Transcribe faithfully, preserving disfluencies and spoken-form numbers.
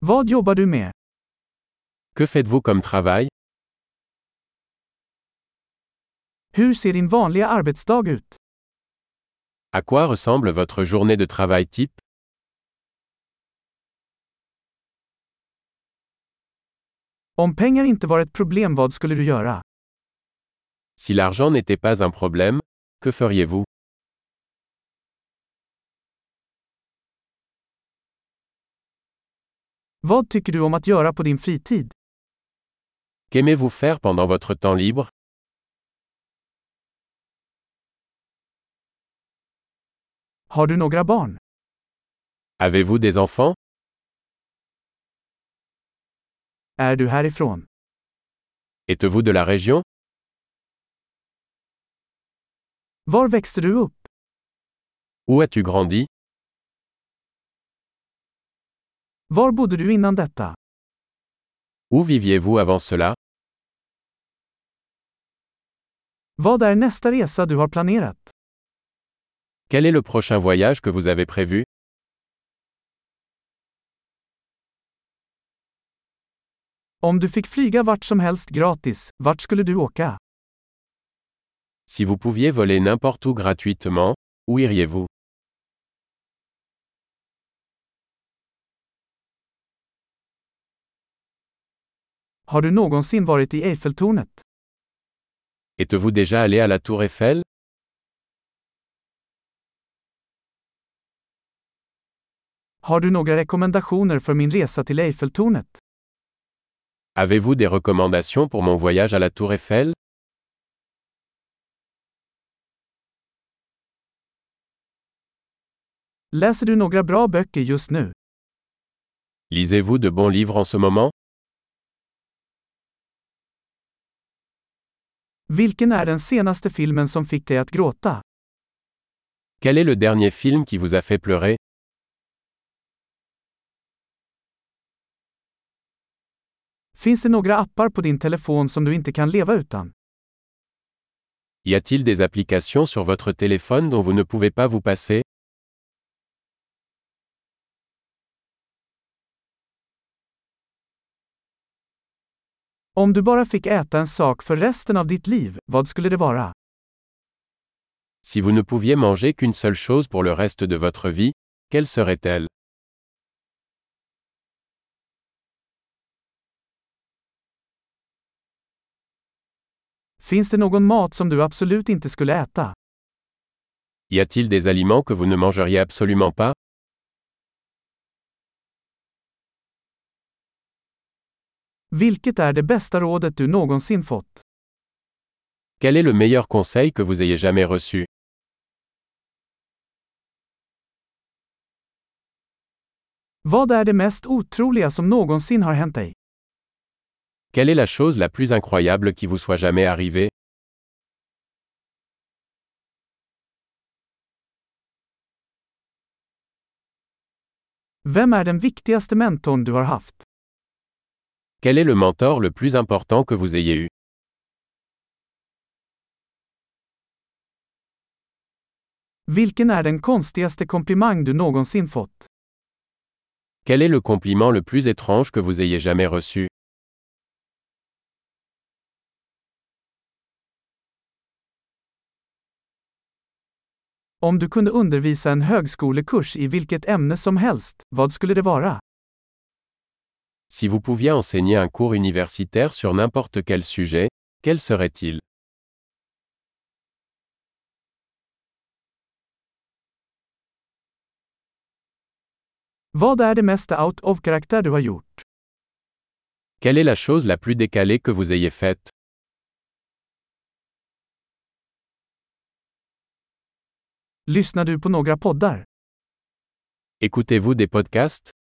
Vad jobbar du med? Que faites-vous comme travail? Hur ser din vanliga arbetsdag ut? À quoi ressemble votre journée de travail type? Om pengar inte var ett problem, vad skulle du göra? Si l'argent n'était pas un problème, que feriez-vous? Vad tycker du om att göra på din fritid? Qu'aimez-vous faire pendant votre temps libre? Har du några barn? Avez-vous des enfants? Är du härifrån? Êtes-vous de la région? Var växte du upp? Où as-tu grandi? Var bodde du innan detta? Où viviez-vous avant cela? Vad är nästa resa du har planerat? Quel est le prochain voyage que vous avez prévu? Om du fick flyga vart som helst gratis, vart skulle du åka? Si vous pouviez voler n'importe où gratuitement, où iriez-vous? Har du någonsin varit i Eiffeltornet? Êtes-vous déjà allé à la Tour Eiffel? Har du några rekommendationer för min resa till Eiffeltornet? Avez-vous des recommandations pour mon voyage à la Tour Eiffel? Läser du några bra böcker just nu? Lisez-vous de bons livres en ce moment? Vilken är den senaste filmen som fick dig att gråta? Quel est le dernier film qui vous a fait pleurer? Finns det några appar på din telefon som du inte kan leva utan? Y a-t-il des applications sur votre téléphone dont vous ne pouvez pas vous passer? Om du bara fick äta en sak för resten av ditt liv, vad skulle det vara? Si vous ne pouviez manger qu'une seule chose pour le reste de votre vie, quelle serait-elle? Finns det någon mat som du absolut inte skulle äta? Y a-t-il des aliments que vous ne mangeriez absolument pas? Vilket är det bästa rådet du någonsin fått? Quel est le meilleur conseil que vous ayez jamais reçu? Vad är det mest otroliga som någonsin har hänt dig? Quelle est la chose la plus incroyable qui vous soit jamais arrivée? Vem är den viktigaste mentorn du har haft? Quel est le mentor le plus important que vous ayez eu? Vilken är den konstigaste komplimang du någonsin fått? Quel est le compliment le plus étrange que vous ayez jamais reçu? Om du kunde undervisa en högskolekurs i vilket ämne som helst, vad skulle det vara? Si vous pouviez enseigner un cours universitaire sur n'importe quel sujet, quel serait-il? Vad är det mesta out of karaktär du har gjort? Quelle est la chose la plus décalée que vous ayez faite? Lyssnar du på några poddar? Écoutez-vous des podcasts?